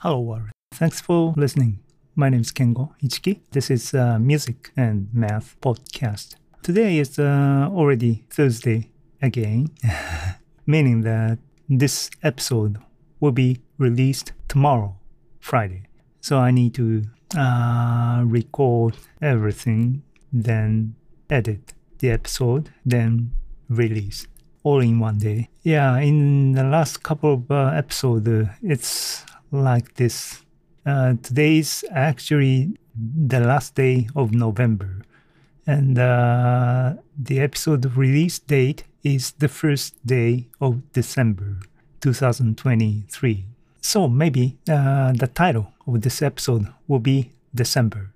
Hello, Warren. Thanks for listening. My name is Kengo Ichiki. This is a music and math podcast. Today is already Thursday again, meaning that this episode will be released tomorrow, Friday. So I need to record everything, then edit the episode, then release all in one day. Yeah, in the last couple of episodes, it's like this. Today is actually the last day of November, and the episode release date is the first day of December 2023. So maybe the title of this episode will be December.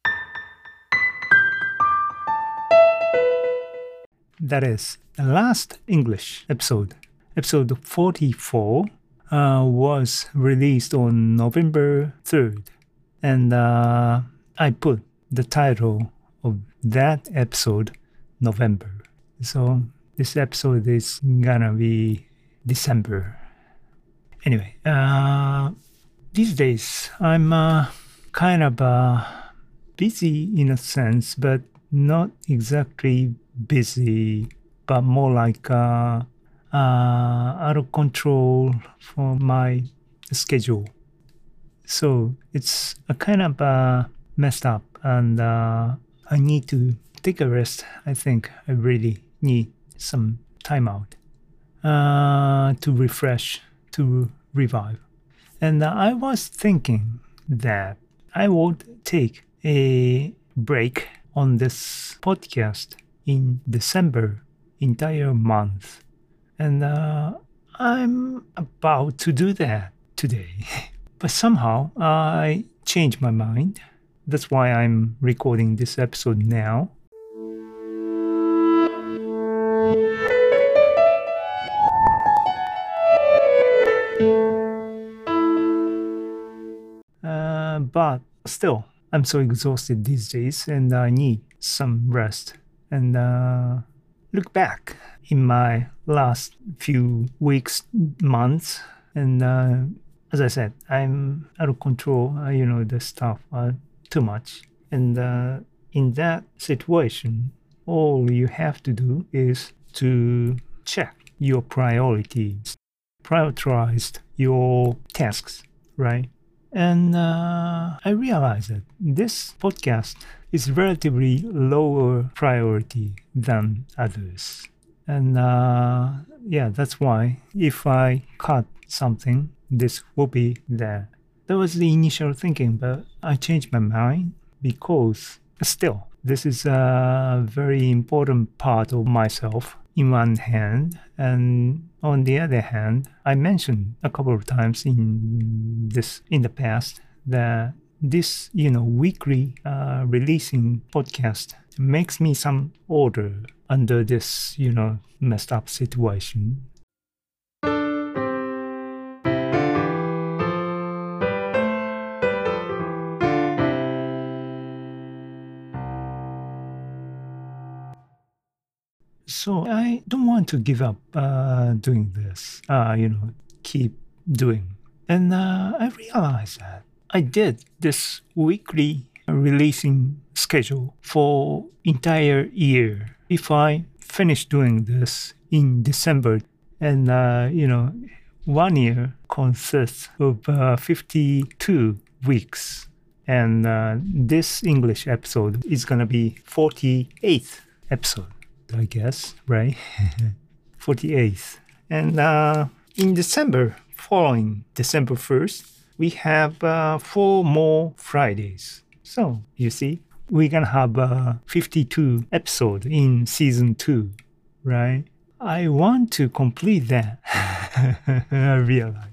That is the last English episode, episode 44. Was released on November 3rd, and I put the title of that episode November. So this episode is gonna be December. Anyway, these days I'm kind of busy in a sense, but not exactly busy, but more like out of control for my schedule. So it's a kind of messed up, and I need to take a rest. I think I really need some time out to refresh, to revive. And I was thinking that I would take a break on this podcast in December, entire month. And I'm about to do that today. But somehow I changed my mind. That's why I'm recording this episode now. But still, I'm so exhausted these days and I need some rest. And look back in my last few weeks, months, and as I said, I'm out of control. The stuff too much, and in that situation, all you have to do is to check your priorities, prioritize your tasks, right? And I realized that this podcast is relatively lower priority than others. And that's why if I cut something, this will be there. That was the initial thinking, but I changed my mind because still, this is a very important part of myself in one hand. And on the other hand, I mentioned a couple of times in the past that this, weekly releasing podcast makes me some order under this, messed up situation. So I don't want to give up doing this, keep doing. And I realized that I did this weekly releasing schedule for entire year. If I finish doing this in December, and 1 year consists of 52 weeks, and this English episode is gonna be 48th episode, I guess, right? 48th. And in December, following December 1st, we have 4 more Fridays. So, you see, we're gonna have 52 episodes in season 2, right? I want to complete that. I realize.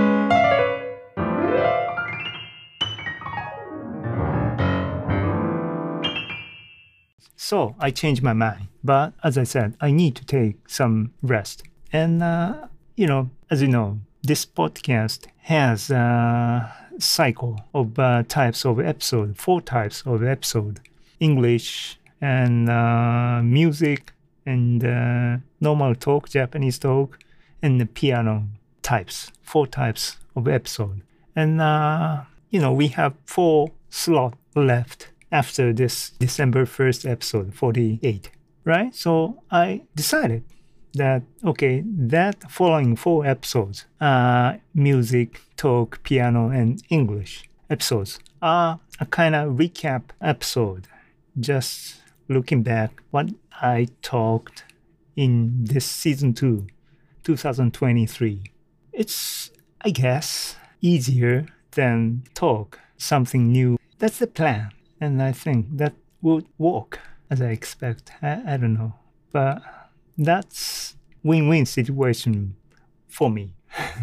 So I changed my mind. But as I said, I need to take some rest. And, as you know, this podcast has a cycle of types of episode, 4 types of episode. English and music and normal talk, Japanese talk, and the piano types, 4 types of episode. And, we have 4 slots left after this December 1st episode, 48, right? So I decided that, okay, that following 4 episodes, music, talk, piano, and English episodes are a kind of recap episode, just looking back what I talked in this season 2, 2023. It's, I guess, easier than talk something new. That's the plan. And I think that would work as I expect. I don't know. But that's win-win situation for me.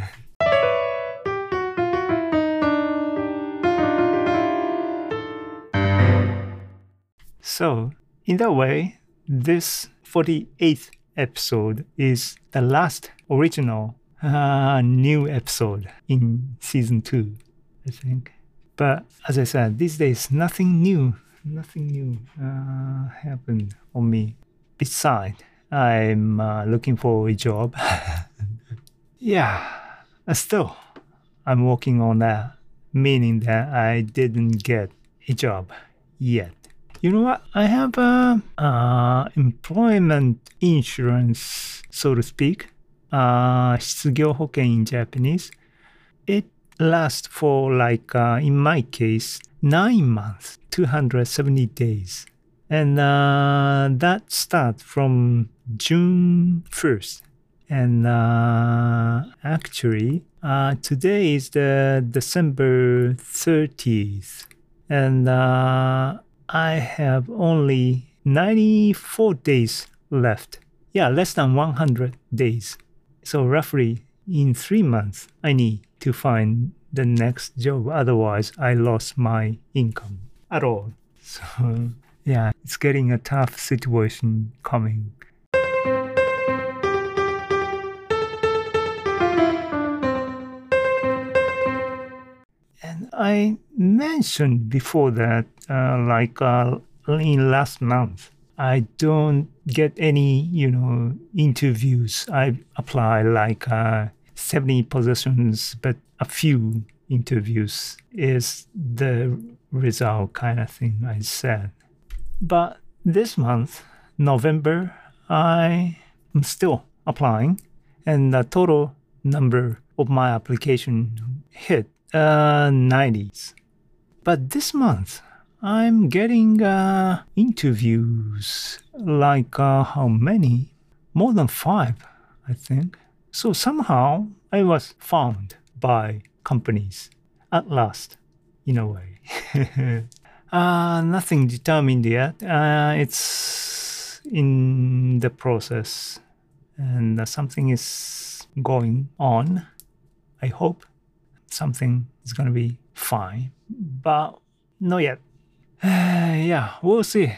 So, in that way, this 48th episode is the last original new episode in season 2, I think. But as I said, these days, nothing new happened on me. Besides, I'm looking for a job. Yeah, still, I'm working on that, meaning that I didn't get a job yet. You know what? I have employment insurance, so to speak. 失業保険 in Japanese. It lasts for in my case, 9 months, 270 days. And that starts from June 1st. And actually, today is the December 30th. And I have only 94 days left. Yeah, less than 100 days. So roughly in 3 months, I need to find the next job. Otherwise, I lost my income at all. So yeah, it's getting a tough situation coming. And I mentioned before that, in last month, I don't get any, interviews. I apply 70 positions, but a few interviews is the result kind of thing I said. But this month, November, I am still applying, and the total number of my application hit 90s. But this month, I'm getting interviews how many? More than 5, I think. So somehow I was found by companies at last, in a way. Nothing determined yet. It's in the process, and something is going on. I hope something is going to be fine, but not yet. Yeah, we'll see.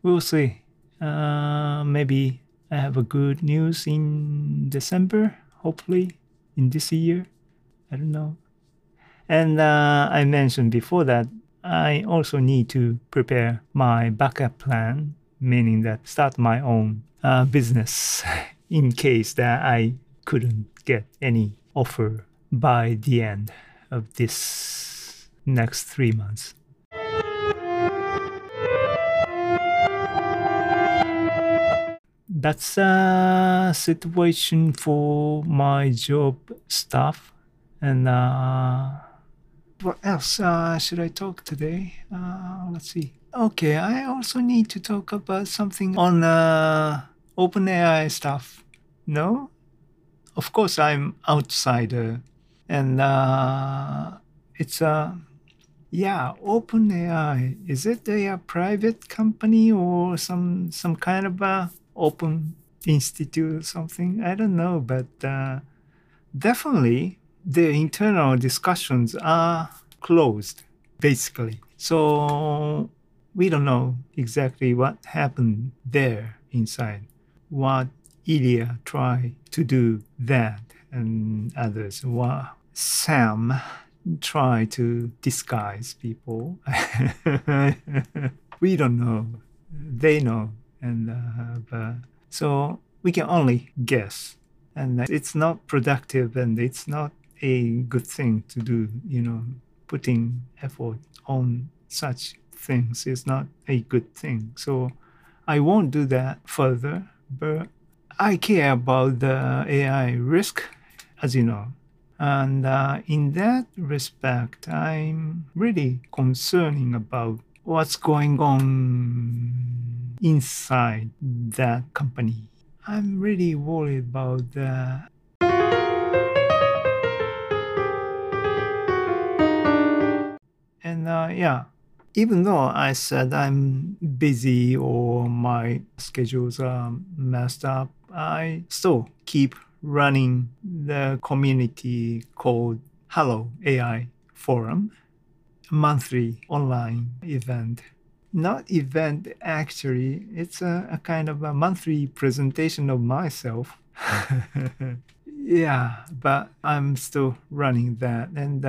Maybe I have a good news in December, hopefully, in this year. I don't know. And I mentioned before that I also need to prepare my backup plan, meaning that start my own business in case that I couldn't get any offer by the end of this next 3 months. That's a situation for my job stuff. And what else should I talk today? Let's see. Okay, I also need to talk about something on OpenAI stuff. No? Of course, I'm outsider. And it's OpenAI. Is it a private company or some kind of a open institute or something? I don't know, but definitely the internal discussions are closed, basically. So we don't know exactly what happened there inside, what Ilya tried to do that, and others. What Sam tried to disguise people. We don't know. They know. And so we can only guess. And it's not productive and it's not a good thing to do. Putting effort on such things is not a good thing. So I won't do that further, but I care about the AI risk, as you know. And in that respect, I'm really concerning about what's going on inside that company. I'm really worried about that. And yeah, even though I said I'm busy or my schedules are messed up, I still keep running the community called Hello AI Forum, a monthly online event. Not event, actually, it's a kind of a monthly presentation of myself. Yeah, but I'm still running that. And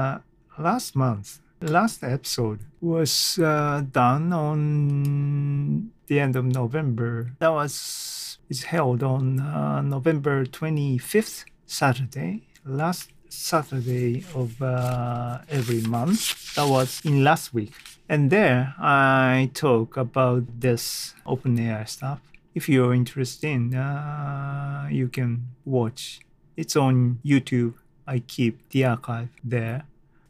last episode was done on the end of November. It's held on November 25th, Saturday, last Saturday of every month. That was in last week. And there I talk about this OpenAI stuff. If you're interested in, you can watch. It's on YouTube. I keep the archive there.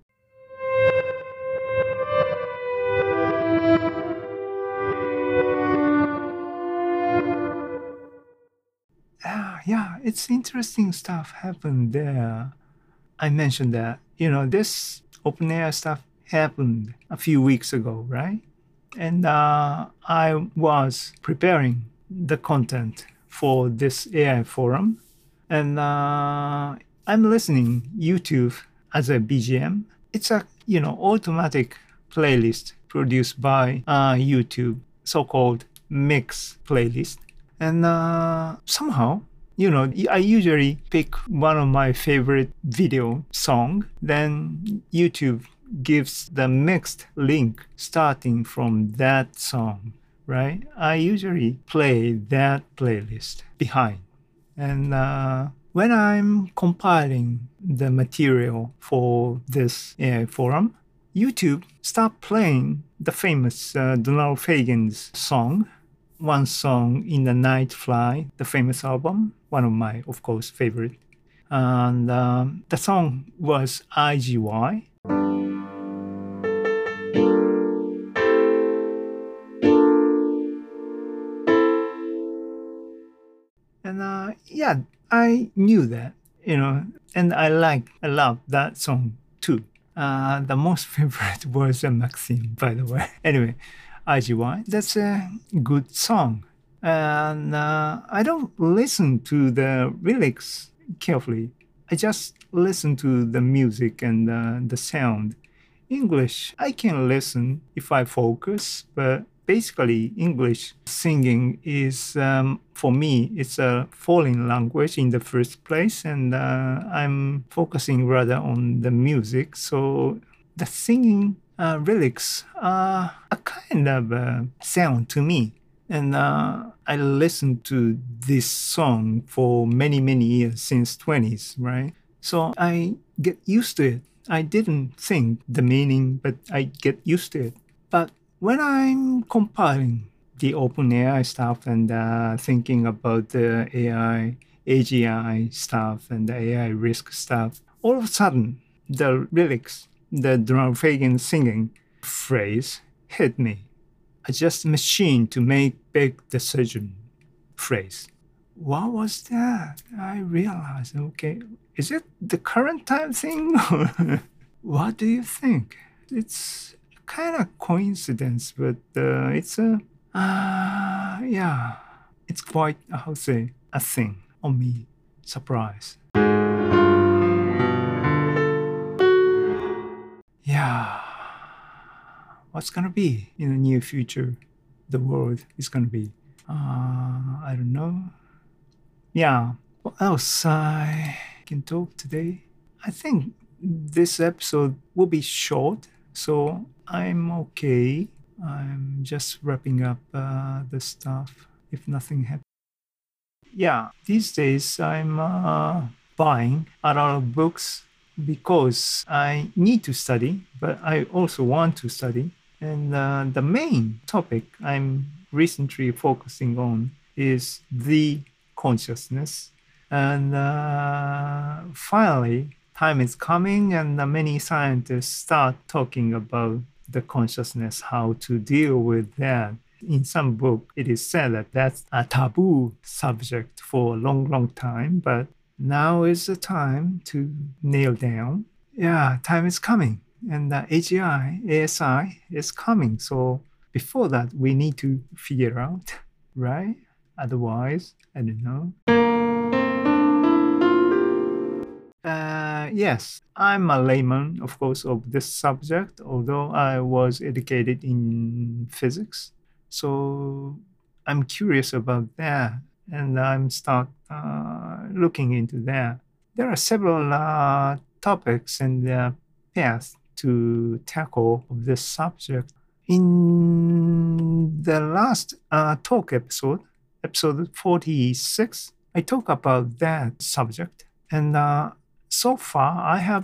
Yeah, it's interesting stuff happened there. I mentioned that, this OpenAI stuff happened a few weeks ago, right? And I was preparing the content for this AI forum, and I'm listening YouTube as a BGM. It's a automatic playlist produced by YouTube, so-called mix playlist, and somehow. I usually pick one of my favorite video song, then YouTube gives the mixed link starting from that song, right? I usually play that playlist behind. And when I'm compiling the material for this AI forum, YouTube start playing the famous Donald Fagen's song, one song in the Night Fly, the famous album, one of my, of course, favorite. And the song was IGY. And yeah, I knew that, and I love that song too. The most favorite was Maxim, by the way. Anyway, IGY, that's a good song. And I don't listen to the lyrics carefully. I just listen to the music and the sound. English, I can listen if I focus, but basically English singing is, for me, it's a foreign language in the first place, and I'm focusing rather on the music. So the singing lyrics are a kind of sound to me. And I listened to this song for many, many years, since 20s, right? So I get used to it. I didn't think the meaning, but I get used to it. But when I'm compiling the OpenAI stuff and thinking about the AI, AGI stuff and the AI risk stuff, all of a sudden, the lyrics, the Donald Fagen singing phrase hit me. I just machine to make big decision phrase. What was that? I realized, okay, is it the current time thing? What do you think? It's kind of coincidence, but it's yeah, it's quite, how to say, a thing on me, surprise. Yeah, what's gonna be in the near future? The world is gonna be. I don't know. Yeah, what else I can talk today? I think this episode will be short, so I'm okay. I'm just wrapping up the stuff if nothing happens. Yeah, these days I'm buying a lot of books because I need to study, but I also want to study. And the main topic I'm recently focusing on is the consciousness. And finally, time is coming, and many scientists start talking about the consciousness, how to deal with that. In some book, it is said that that's a taboo subject for a long, long time, but now is the time to nail down. Yeah, time is coming, and the AGI, ASI is coming. So before that, we need to figure out, right? Otherwise, I don't know. Yes, I'm a layman, of course, of this subject, although I was educated in physics. So I'm curious about that, and I'm start looking into that. There are several topics and paths to tackle this subject. In the last talk episode, episode 46, I talk about that subject, and so far I have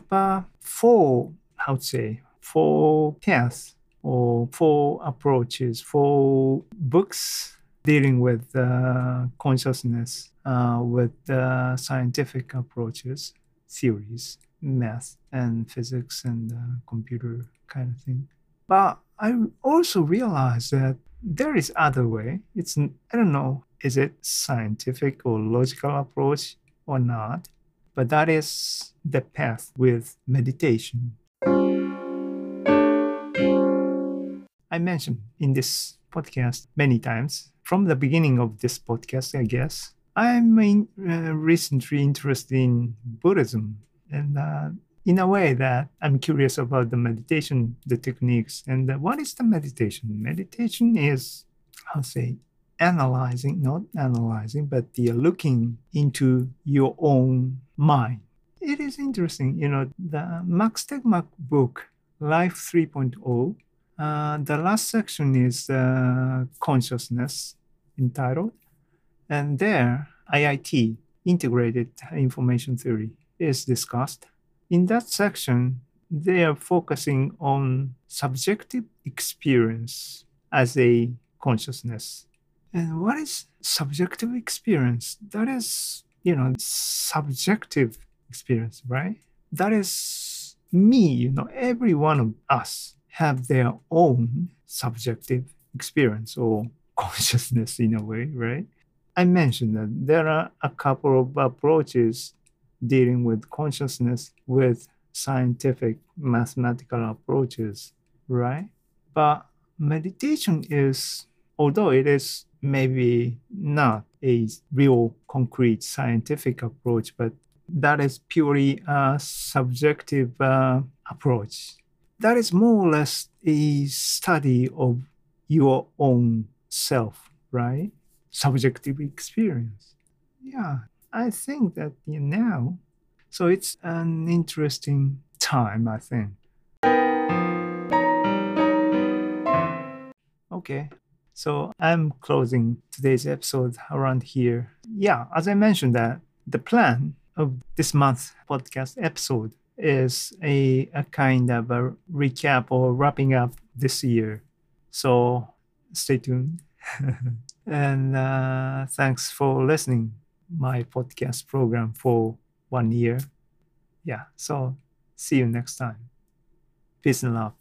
four paths or four approaches, four books dealing with consciousness with scientific approaches, theories, math and physics and computer kind of thing. But I also realized that there is other way. I don't know, is it scientific or logical approach or not? But that is the path with meditation. I mentioned in this podcast many times, from the beginning of this podcast, I guess, I'm recently interested in Buddhism. And in a way that I'm curious about the meditation, the techniques. And what is the meditation? Meditation is, not analyzing, but the looking into your own mind. It is interesting, the Max Tegmark book, Life 3.0, the last section is consciousness entitled, and there IIT, Integrated Information Theory, is discussed. In that section, they are focusing on subjective experience as a consciousness. And what is subjective experience? That is, subjective experience, right? That is me, every one of us have their own subjective experience or consciousness in a way, right? I mentioned that there are a couple of approaches dealing with consciousness with scientific mathematical approaches, right? But meditation is, although it is maybe not a real concrete scientific approach, but that is purely a subjective approach. That is more or less a study of your own self, right? Subjective experience. Yeah, I think that now, so it's an interesting time, I think. Okay, so I'm closing today's episode around here. Yeah, as I mentioned that the plan of this month's podcast episode is a kind of a recap or wrapping up this year. So stay tuned. And thanks for listening my podcast program for 1 year. Yeah, so see you next time. Peace and love.